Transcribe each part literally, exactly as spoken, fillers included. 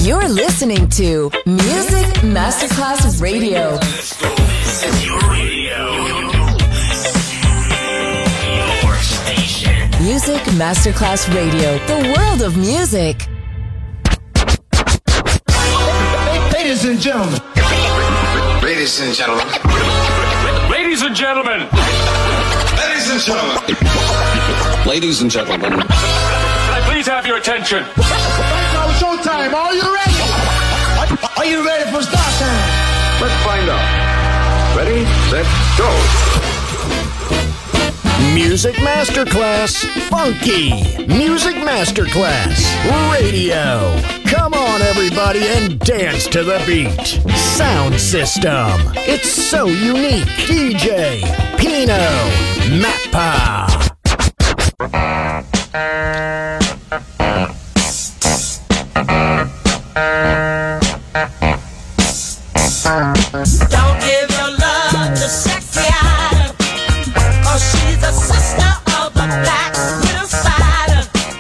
You're listening to Music Masterclass Radio. This is your radio. Your station. Music Masterclass Radio. The world of music. Ladies and gentlemen. Ladies and gentlemen. Ladies and gentlemen. Ladies and gentlemen. Ladies and gentlemen. Can I please have your attention? Now showtime. Are you ready? Are you ready for start time? Let's find out. Ready, set, go. Music Masterclass Funky. Music Masterclass Radio. Come on, everybody, and dance to the beat. Sound system. It's so unique. D J Pino Mappa. Don't give your love to sexy Ida, 'cause she's a sister of the black widow spider.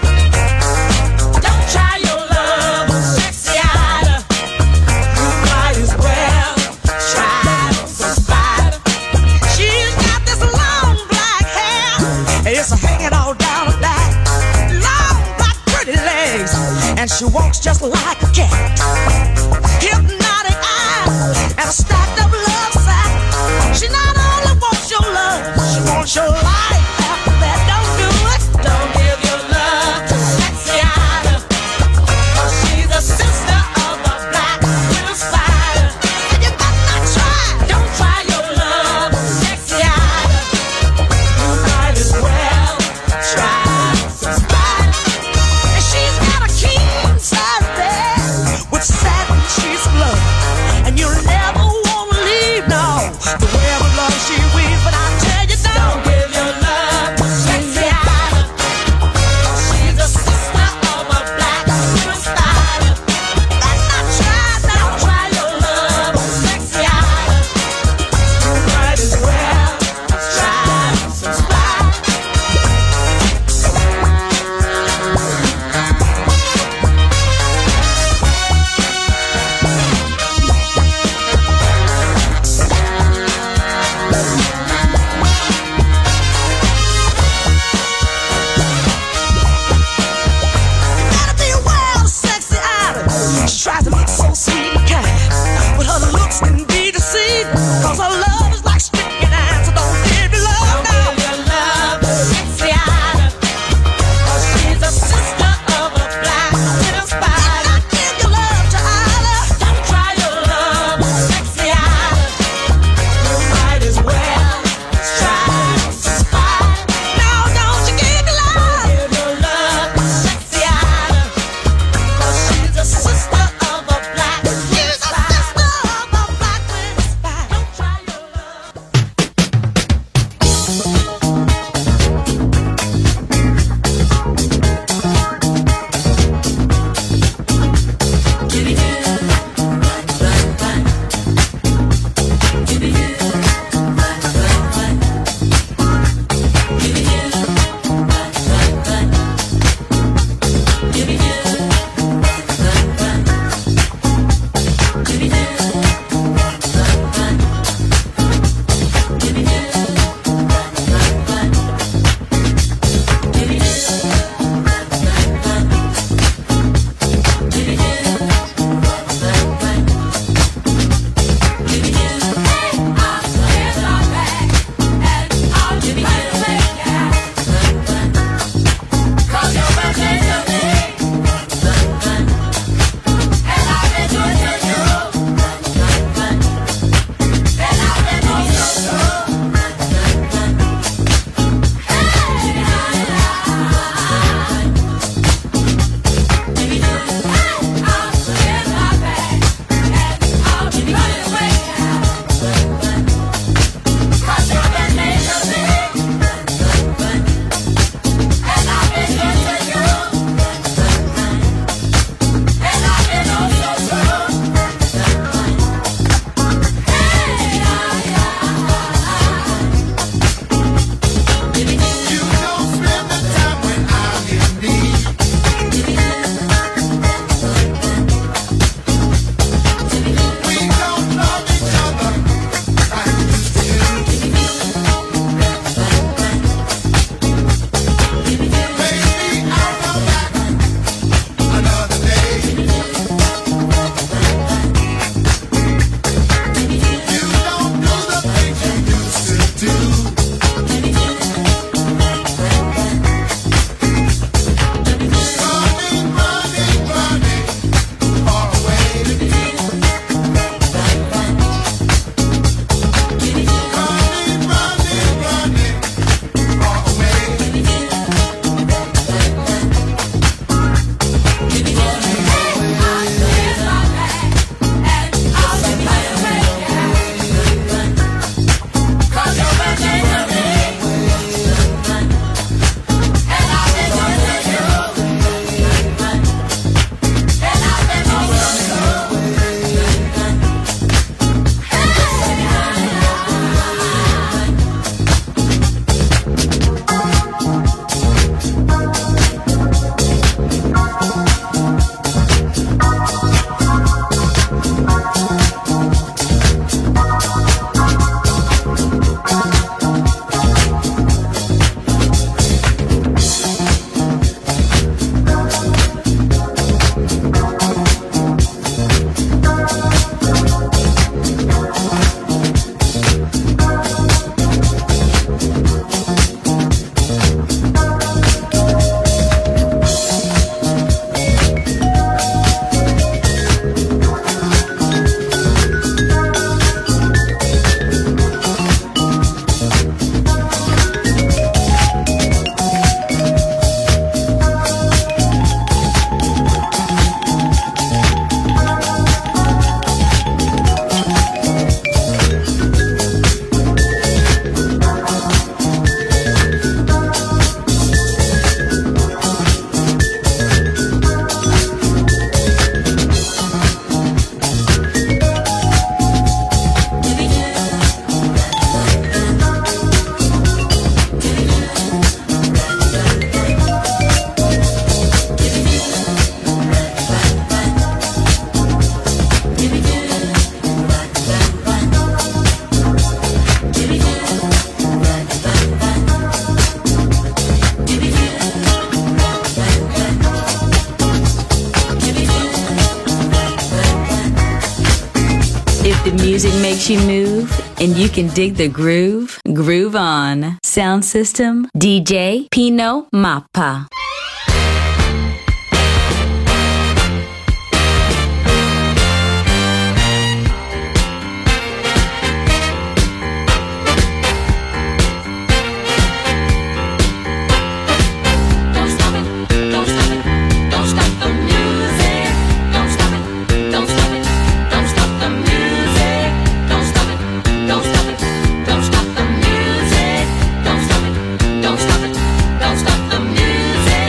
Don't try your love on sexy Ida. You might as well try some spider. She's got this long black hair, and it's hanging all down her back. Long black pretty legs, and she walks just like a cat. Hypnotic eyes and a stacked up love sack. She not only wants your love, she wants your life after that. Don't do it. Don't give your love to sexy Ida, 'cause she's a sister of the black widow spider. And you better not try. Don't try your love on sexy Ida. You might as well try some spider. And she's got a king size bed with satin sheets love, and you'll never want Good music makes you move, and you can dig the groove. Groove on. Sound system, D J Pino Mappa. Don't stop the music.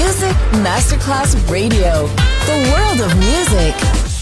Music Masterclass Radio, the world of music.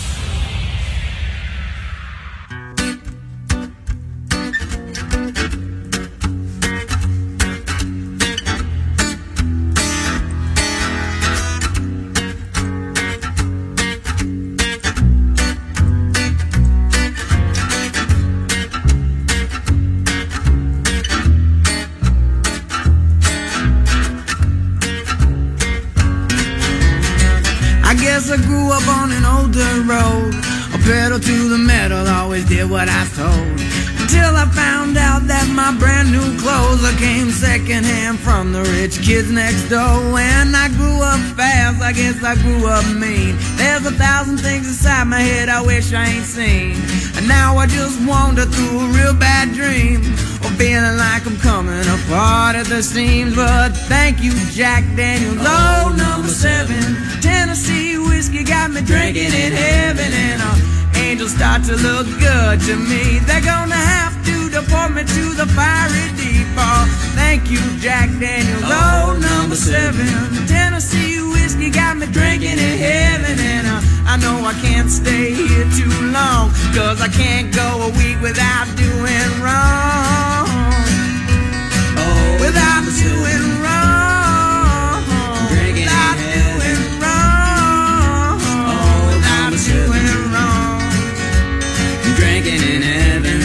I grew up on an old dirt road, a pedal to the metal, always did what I was told. Until I found out that my brand new clothes came secondhand from the rich kids next door. When I grew up fast, I guess I grew up mean. There's a thousand things inside my head I wish I ain't seen. And now I just wander through a real bad dream, or feeling like I'm coming apart at the seams. But thank you, Jack Daniels, oh, number seven. Tennessee whiskey got me drinking in heaven, and uh, angels start to look good to me. They're gonna have to deport me to the fiery deep. Oh, thank you, Jack Daniels, oh, number seven. Tennessee whiskey got me drinking in heaven, and uh, I know I can't stay here too long, cause I can't go a week without doing wrong. Oh, without doing wrong. Without doing wrong. Oh, without doing wrong. Drinking in heaven.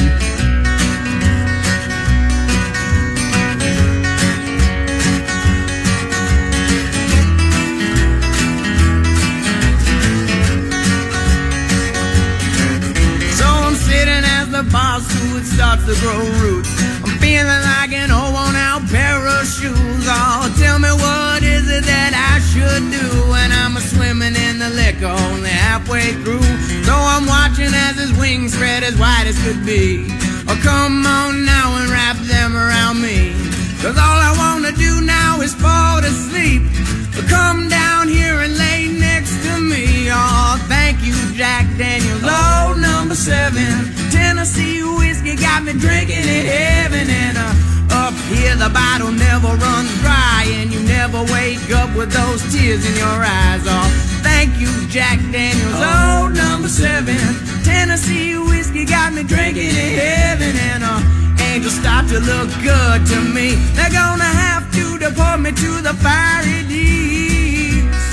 So I'm sitting as the boss who it starts to grow roots. I'm feeling like an old worn out pair of shoes. Oh, tell me what is it that I should do when I'm a swimming in the liquor only halfway through. So I'm watching as his wings spread as wide as could be. Oh, come on now and wrap them around me, cause all I wanna do now is fall to sleep. So come down here and lay next to me. Oh, thank you, Jack Daniels, oh, number seven. Tennessee whiskey got me drinking in heaven, and uh, up here the bottle never runs dry, and you never wake up with those tears in your eyes. Oh, thank you, Jack Daniels, oh, number seven. Tennessee whiskey got me drinking in heaven, and uh, angels start to look good to me. They're gonna have to deport me to the fiery deeps.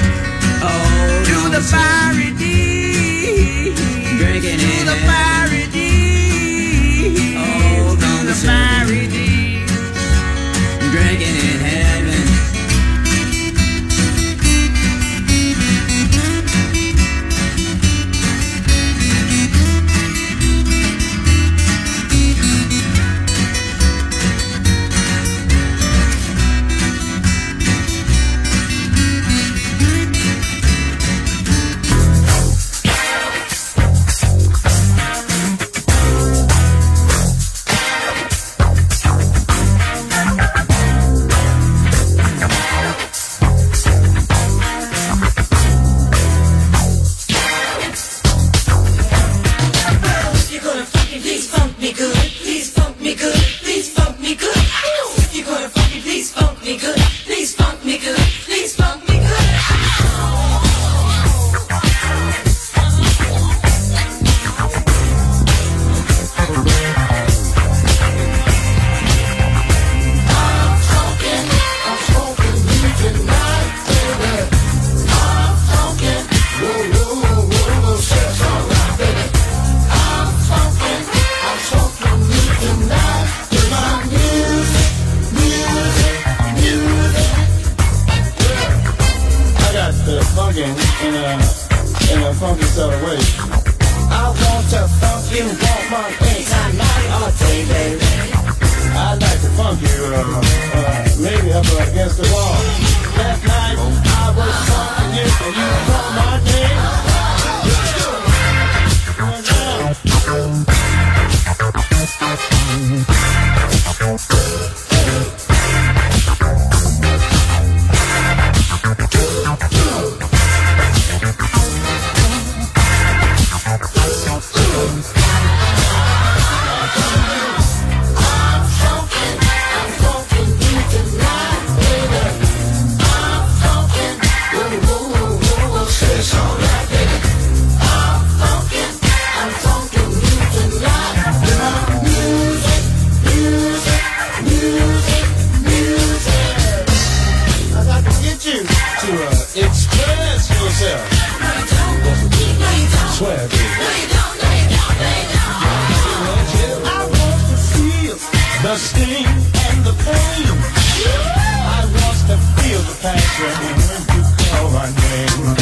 Oh, to the fiery deeps. Drinking in the fiery deep. Oh, to the fiery deep. Drinking in heaven. I'm swear, baby. I want to feel the sting and the pain. I want to feel the passion when you call my name.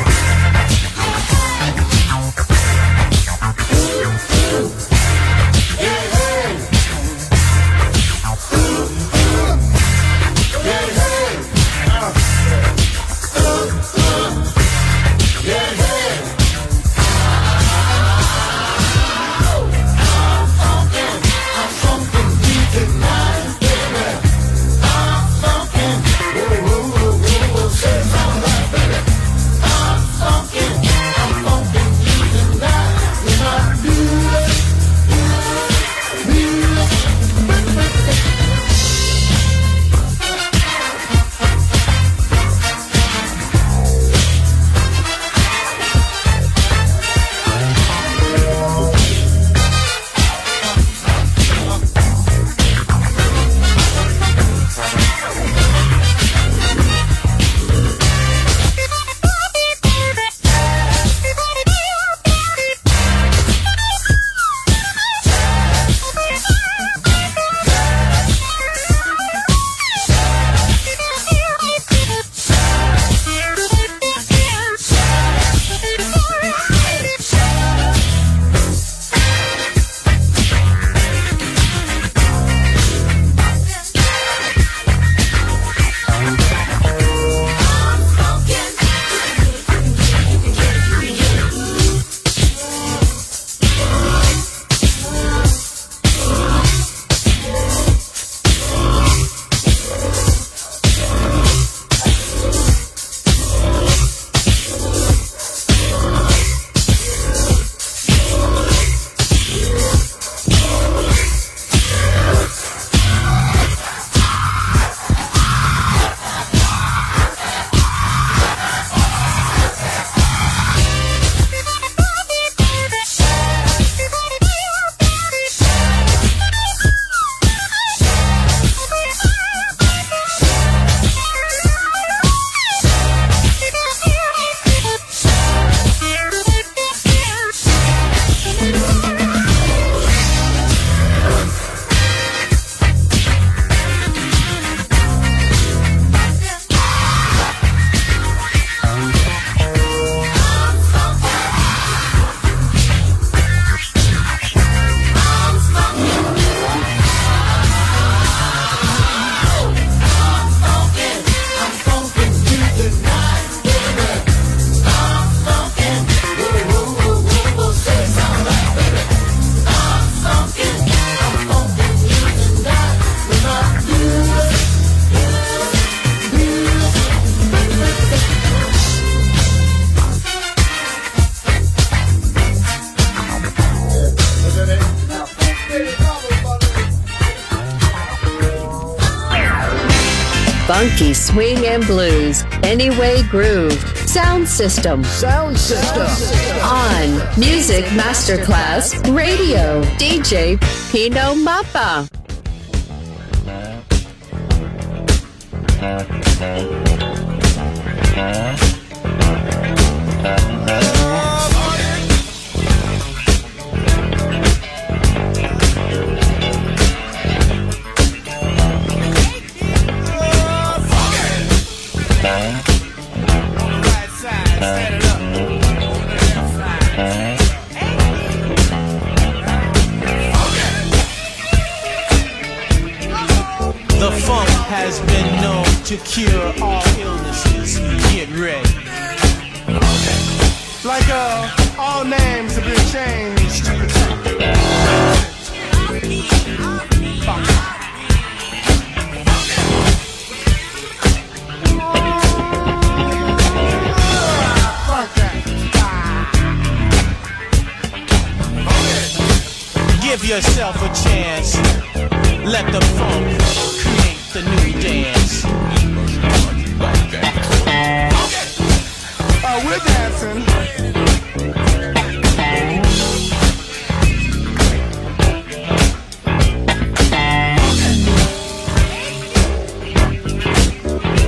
Funky swing and blues, Anyway Groove, Sound System, Sound System, on Music Masterclass Radio, D J Pino Mappa. The funk has been known to cure all illnesses. Get ready. Like uh, all names have been changed to protect you. Give yourself a chance. Let the funk create the new dance. Uh, we're dancing.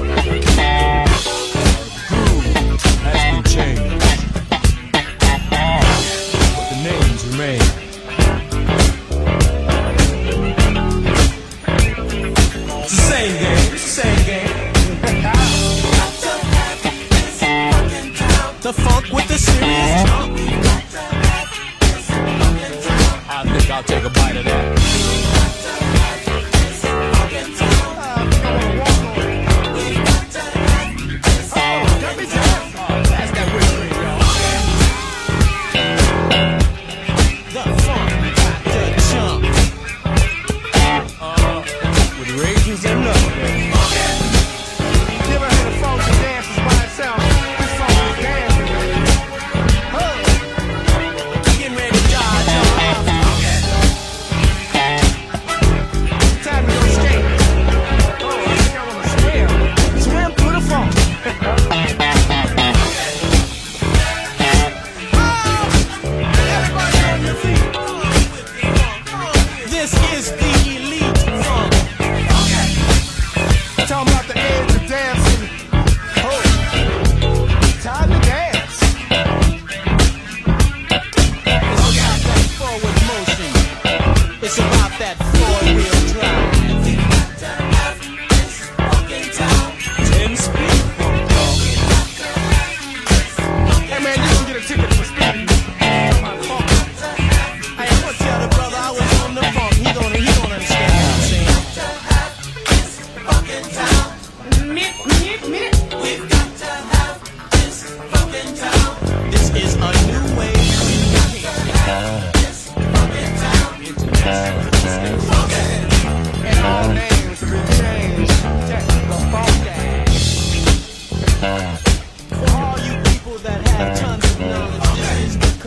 Groove has been changed.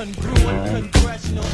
congruent congressional.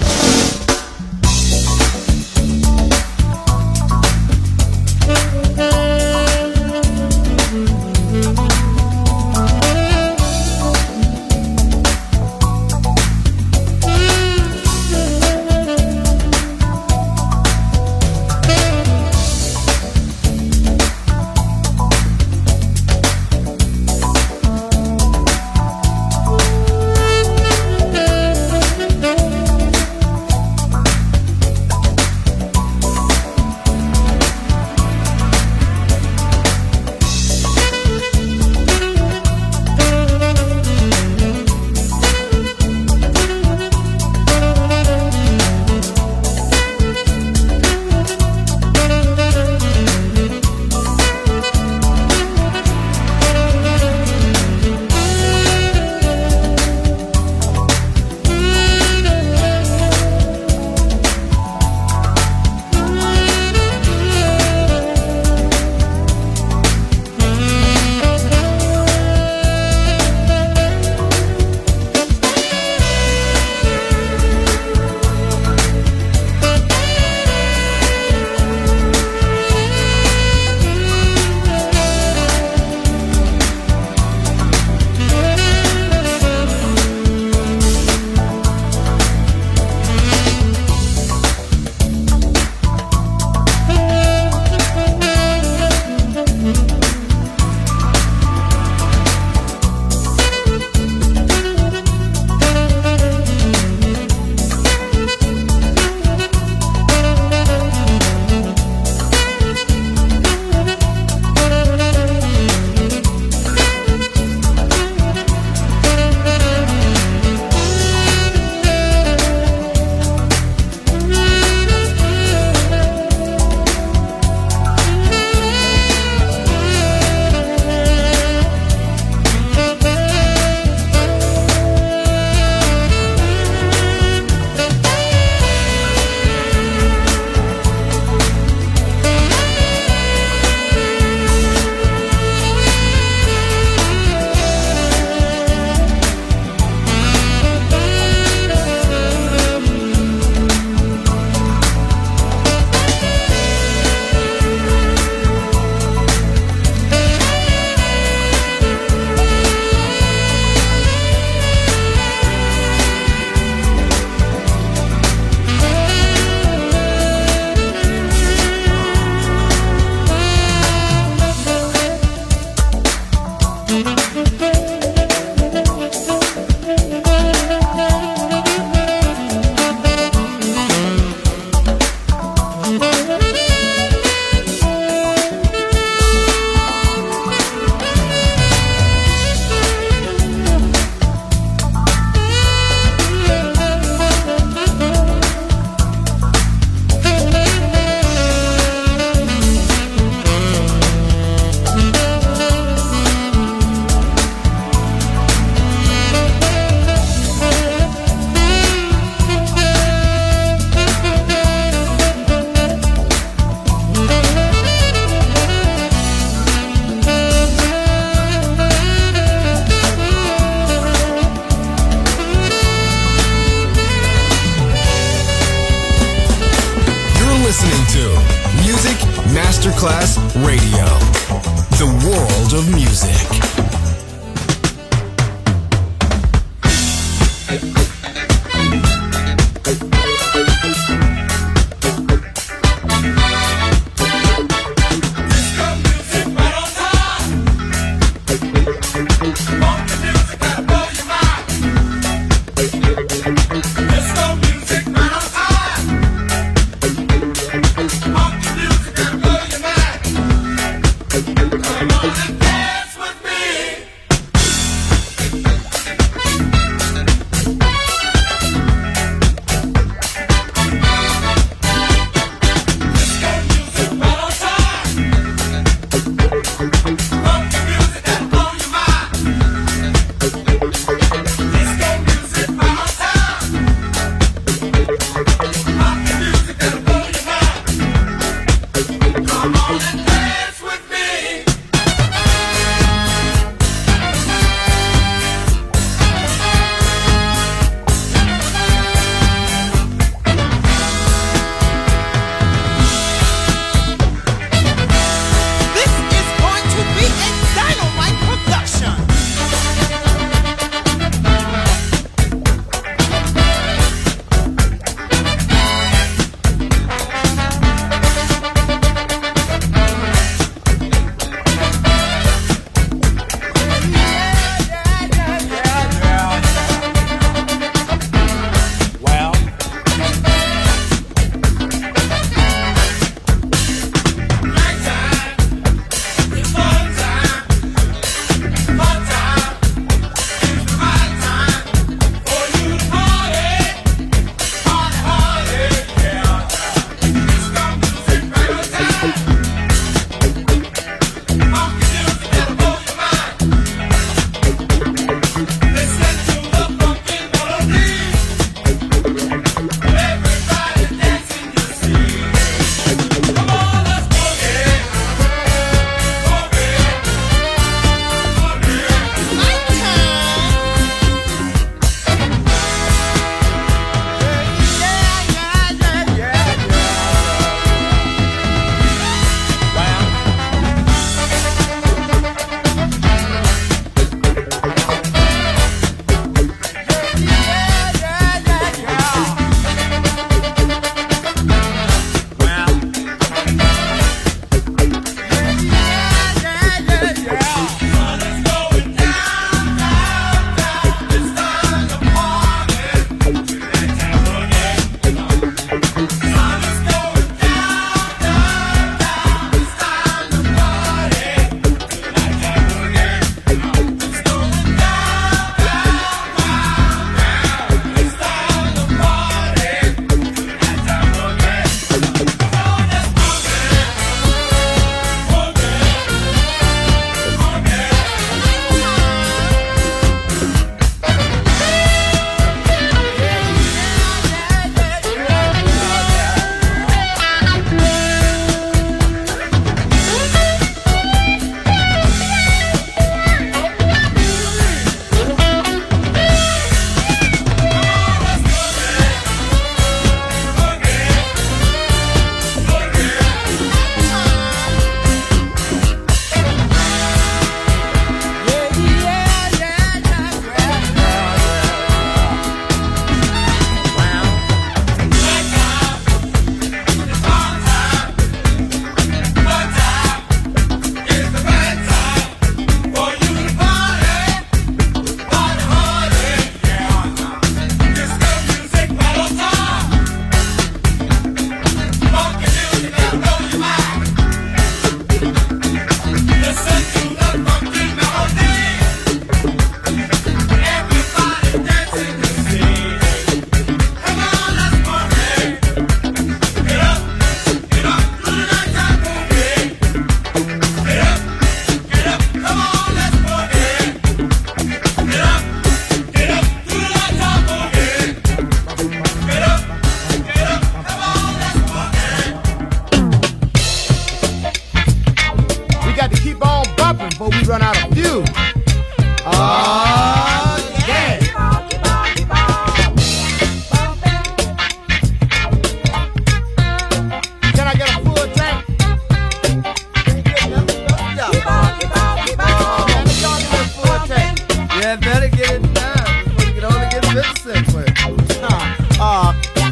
Masterclass Radio, the world of music.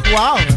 water.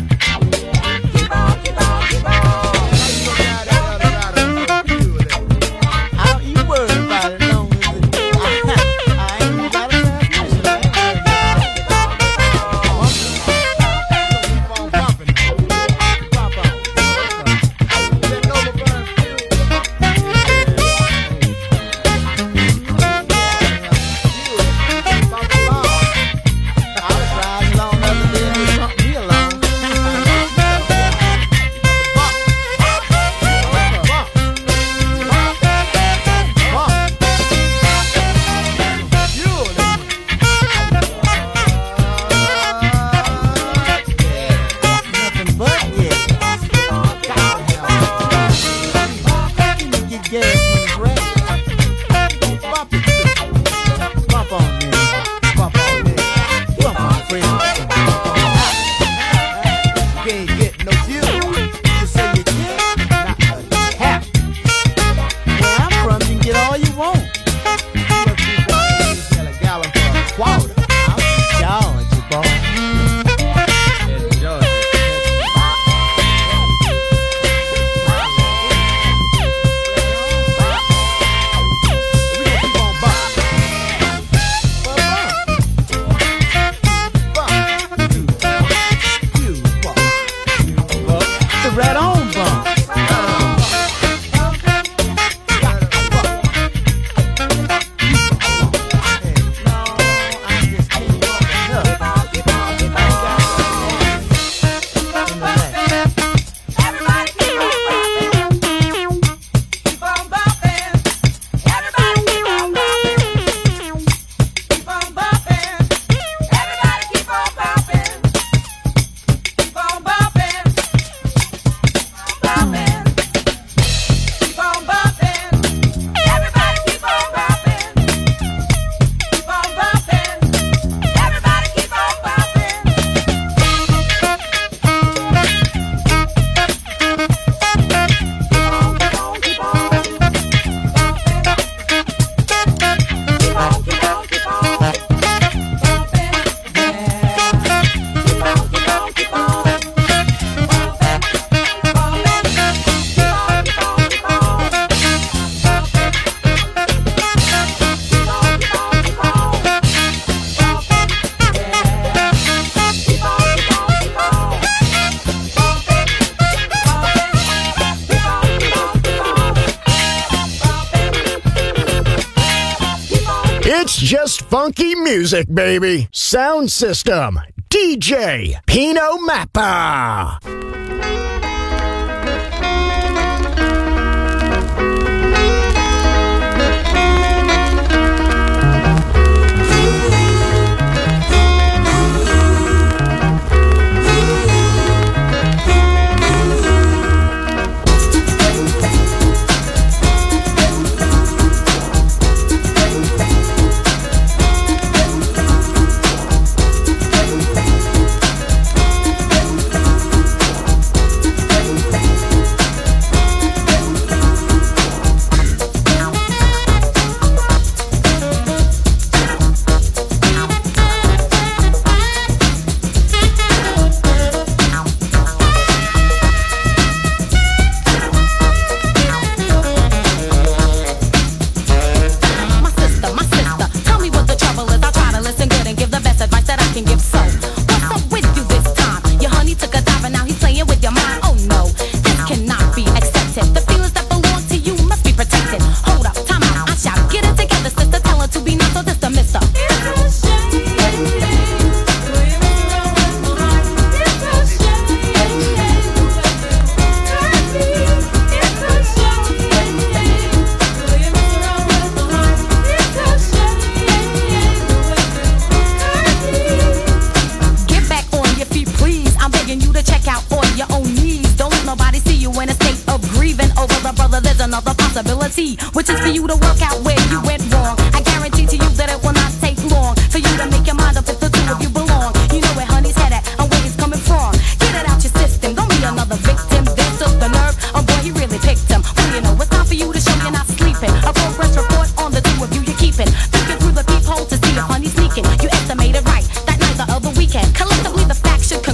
It's just funky music, baby. Sound System, D J Pino Mappa. Which is for you to work out where you went wrong. I guarantee to you that it will not take long for you to make your mind up if the two of you belong. You know where honey's head at and where he's coming from. Get it out your system, don't be another victim. This took the nerve, oh boy, he really picked him. Well, you know, it's time for you to show you're not sleeping. A progress report on the two of you you're keeping. Looking through the peephole to see if honey's sneaking. You estimated right that night the other weekend. Collectively the facts should conclude that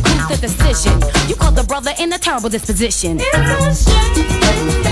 decision. You called the brother in a terrible disposition. It's a shame.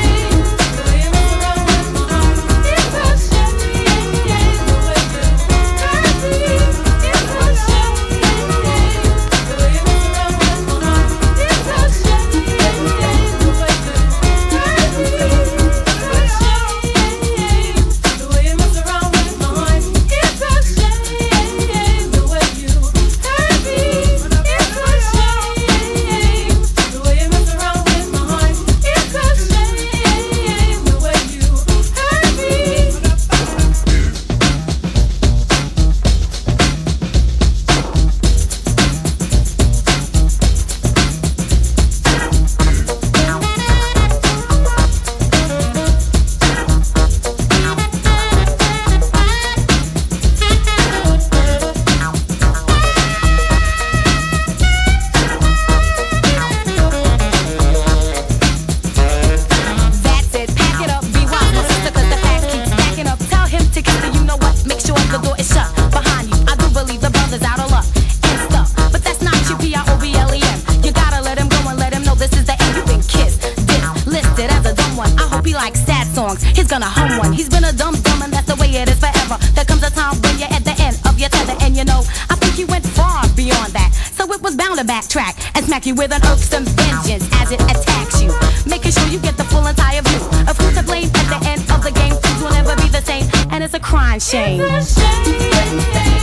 He's gonna hum one. He's been a dumb dumb and that's the way it is forever. There comes a time when you're at the end of your tether, and you know, I think you went far beyond that. So it was bound to backtrack and smack you with an irksome vengeance as it attacks you, making sure you get the full entire view of who's to blame at the end of the game. Things will never be the same, and it's a crying shame. It's a shame.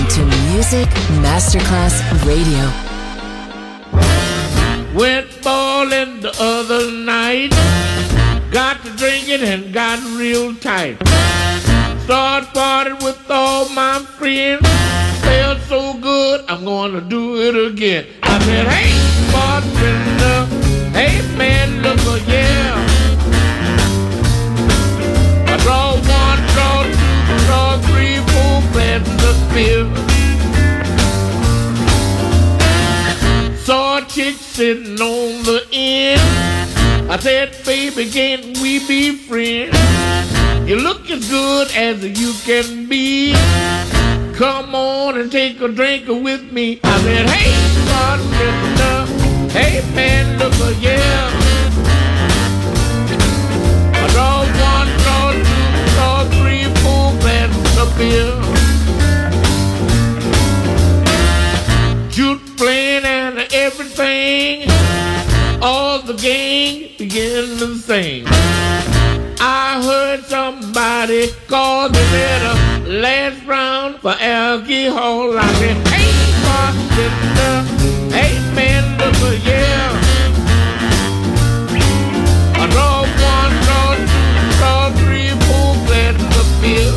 to Music Masterclass Radio. Went bowling the other night, got to drinking and got real tight. Started partying with all my friends, felt so good, I'm gonna do it again. I said, hey, bartender, hey man, look, oh, yeah. I draw one, draw two, draw three, four glasses of beer. Saw a chick sitting on the end. I said, baby, can't we be friends? You look as good as you can be. Come on and take a drink with me. I said, hey, bartender, hey man, look, oh, yeah. I draw one, draw two, draw three, four glasses of beer. Shoot playing and everything, all the gang began to sing. I heard somebody call the letter last round for alcohol. I said, hey, bartender, hey man, look, oh, yeah. I draw one, draw two, draw three, four glasses of beer.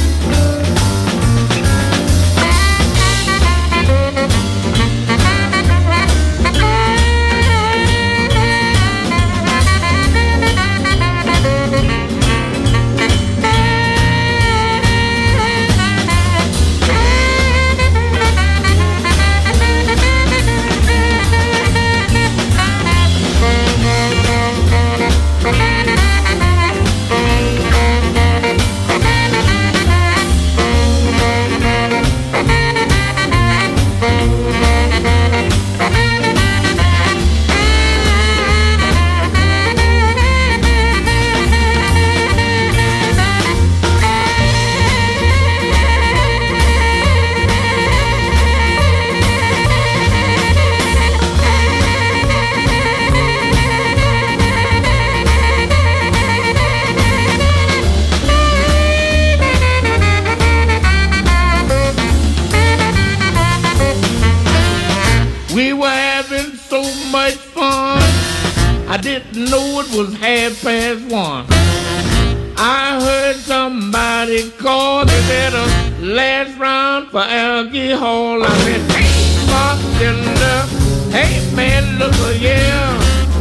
Was half past one. I heard somebody call the letter last round for alcohol. I said, hey, bartender, hey man, look, oh, yeah.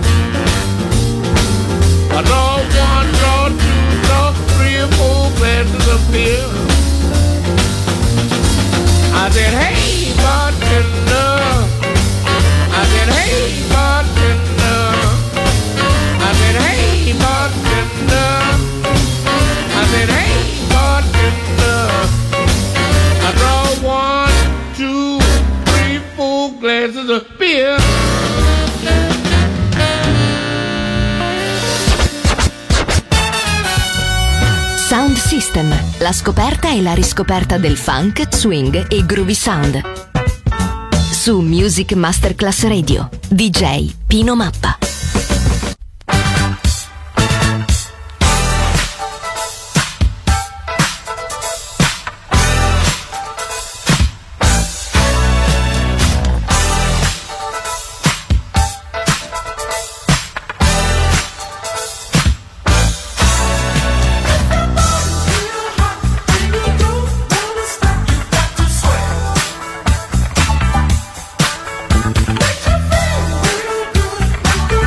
I draw one, draw two, draw three or four glasses of beer. I said, hey, bartender. I said, hey, bartender. I said, hey, bartender. I said, hey, bartender. I draw one, two, three, four glasses of beer. Sound System, la scoperta e la riscoperta del funk, swing e groovy sound. Su Music Masterclass Radio, D J Pino Mappa. Make you feel real good.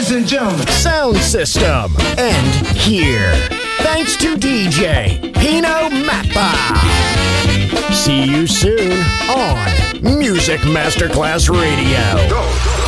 ladies and gentlemen. Sound system. And here. Thanks to D J Pino Mappa. See you soon on Music Masterclass Radio. Go.